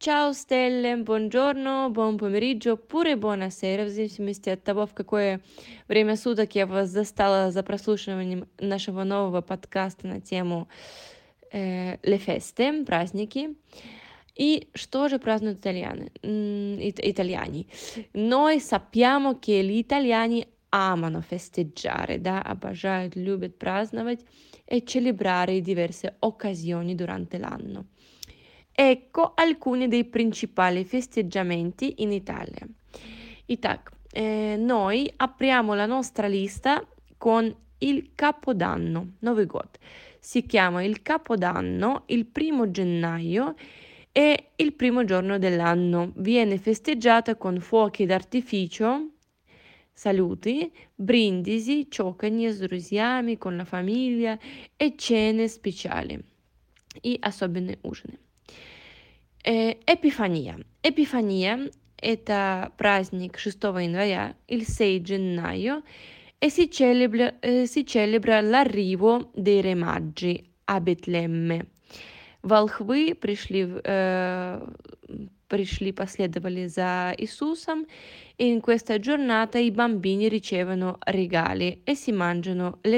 Ciao Стелле, buongiorno, buon помeriggio, oppure buonasera, в зависимости от того, в какое время суток я вас застала за прослушиванием нашего нового подкаста на тему Le feste, праздники. И что же празднуют italiani? Noi sappiamo che gli italiani amano festeggiare, да, обожают, любят праздновать e celebrare diverse occasioni durante l'anno. Ecco alcuni dei principali festeggiamenti in Italia. Итак, noi apriamo la nostra lista con il Capodanno, Новый год. Si chiama il Capodanno il 1 gennaio e il primo giorno dell'anno. Viene festeggiata con fuochi d'artificio, saluti, brindisi, cioccogne с друзьями, con la famiglia e cene speciali и особенные ужины. Epifania. Epifania – это праздник 6 января, il 6 gennaio, e si celebra l'arrivo dei re magi a Betlemme. Волхвы последовали за Иисусом, e in questa giornata i bambini ricevono regali e si mangiano le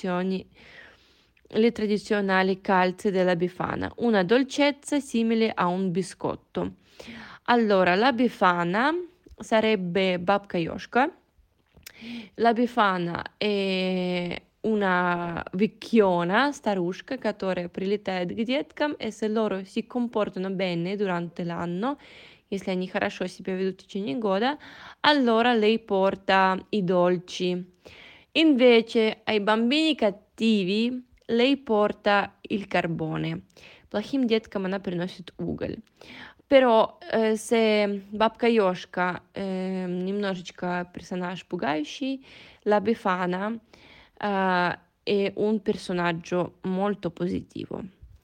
tradizionali calze della Befana, una dolcezza simile a un biscotto. Allora, la Befana sarebbe Babka Yoshka. La Befana è una vecchiona, старушка, которая прилетает к деткам, и se loro si comportano bene durante l'anno, если они хорошо себя ведут в течение года, allora lei porta i dolci. Invece ai bambini cattivi lei porta il carbone. Плохим деткам она приносит уголь. Però se Бабка Ёшка немножечко персонаж пугающий, la Befana è un personaggio molto positivo.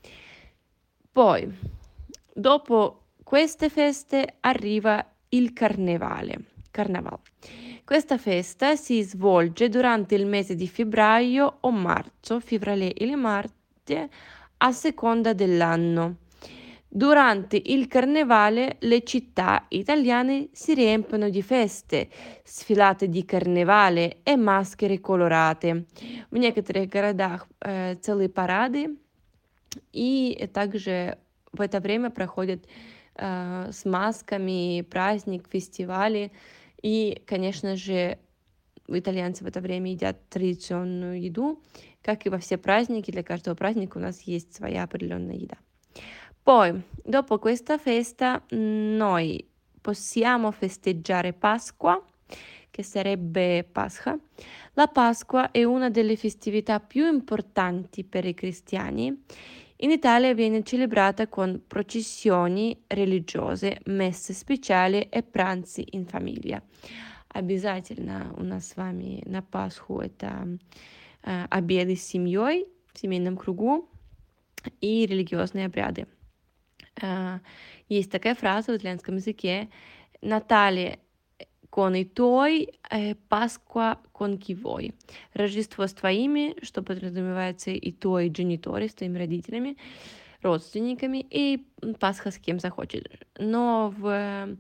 Poi, dopo queste feste, arriva il Carnevale. Questa festa si svolge durante il mese di febbraio o marzo, fevrier или marzo, a seconda dell'anno. Durante il Carnevale le città italiane si riempiono di feste, sfilate di carnevale e maschere colorate. В некоторых городах целые парады, и также в это время проходят с масками праздник, фестивали. И, конечно же, итальянцы в это время едят традиционную еду, как и во все праздники. Для каждого праздника у нас есть своя определенная еда. Poi, dopo questa festa, noi possiamo festeggiare Pasqua, che sarebbe Pascha. La Pasqua è una delle festività più importanti per i cristiani. In Italia viene celebrata con processioni religiose, messe speciali e pranzi in famiglia. Обязательно у нас с вами на Пасху это обеды с семьей в семейном кругу и религиозные обряды. Есть такая фраза в итальянском языке «Натале con i tuoi, Pasqua con chi vuoi». Рождество с твоими, что подразумевается и твои genitori, с твоими родителями, родственниками, и Пасха с кем захочешь. Но в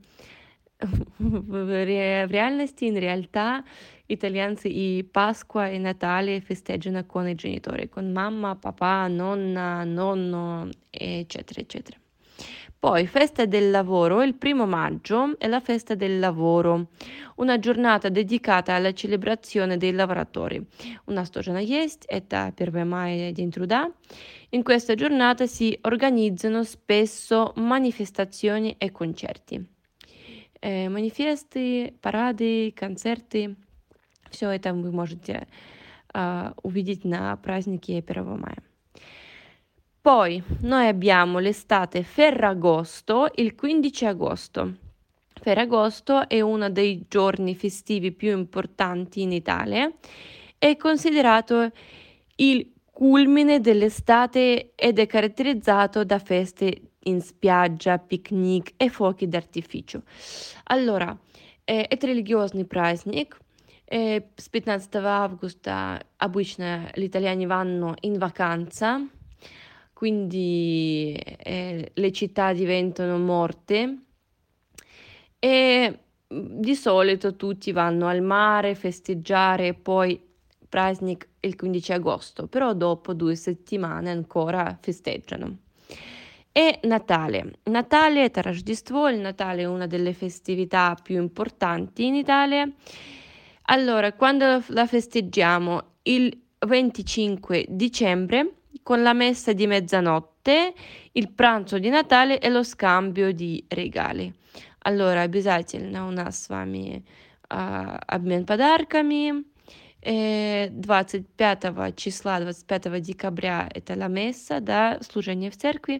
реальности, in realtà, italianzi i Pasqua e Natale festeggiano con i genitori, con mamma, papà, nonna, nonno, eccetera, eccetera. Poi, festa del lavoro, il 1 maggio è la festa del lavoro, una giornata dedicata alla celebrazione dei lavoratori. У нас тоже она есть, это 1 мая, День труда. In questa giornata si organizzano spesso manifestazioni e concerti. Манифесты, парады, концерты, все это вы можете увидеть на празднике 1 мая. Poi noi abbiamo l'estate Ferragosto, il 15 agosto. Ferragosto è uno dei giorni festivi più importanti in Italia, è considerato il culmine dell'estate ed è caratterizzato da feste in spiaggia, picnic e fuochi d'artificio. Allora, это религиозный праздник. С 15 августа обычно l'italiani vanno in vacanza, quindi le città diventano morte e di solito tutti vanno al mare, festeggiare, poi Праздник il 15 agosto, però dopo 2 settimane ancora festeggiano. E Natale. Natale è Rождество, il Natale è una delle festività più importanti in Italia. Allora, quando la festeggiamo? Il 25 dicembre con la messa di mezzanotte, il pranzo di Натале и lo scambio di regali. Allora, обязательно у нас с вами обмен подарками. 25 числа, 25 декабря это la messa, да, служение в церкви.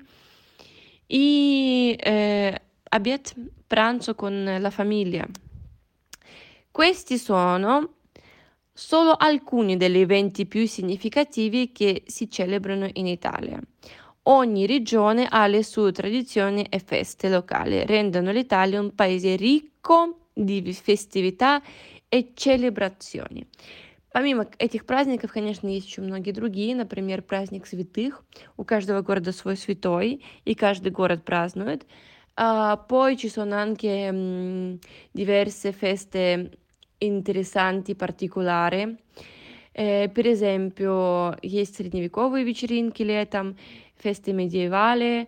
И обед, pranzo con la famiglia. Questi sono solo alcuni degli eventi più significativi che si celebrano in Italia. Ogni regione ha le sue tradizioni e feste locali, rendono l'Italia un paese ricco di festività и celebrazioni. Помимо этих праздников, конечно, есть еще многие другие, например, праздник святых. У каждого города свой святой, и каждый город празднует. Poi ci sono anche diverse feste interessanti, particolari. Per esempio, есть средневековые вечеринки летом, фесты медиевали,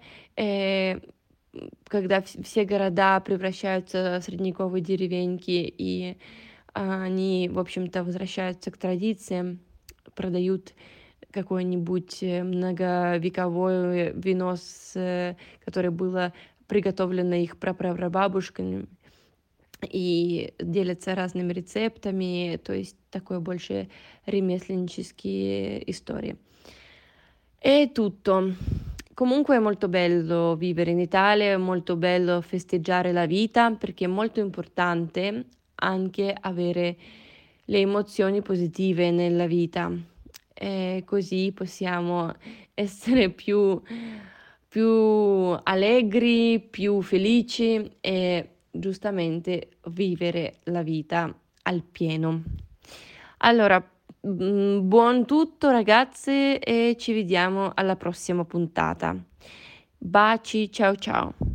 когда все города превращаются в средневековые деревеньки, и они, в общем-то, возвращаются к традициям, продают какое-нибудь многовековое вино, которое было приготовлено их прапрабабушками, и делятся разными рецептами, то есть такое больше ремесленнические истории. È tutto. Comunque è molto bello vivere in Italia, è molto bello festeggiare la vita perché è molto importante anche avere le emozioni positive nella vita. E così possiamo essere più allegri, più felici e giustamente vivere la vita al pieno. Allora, buon tutto ragazze e ci vediamo alla prossima puntata. Baci, ciao ciao.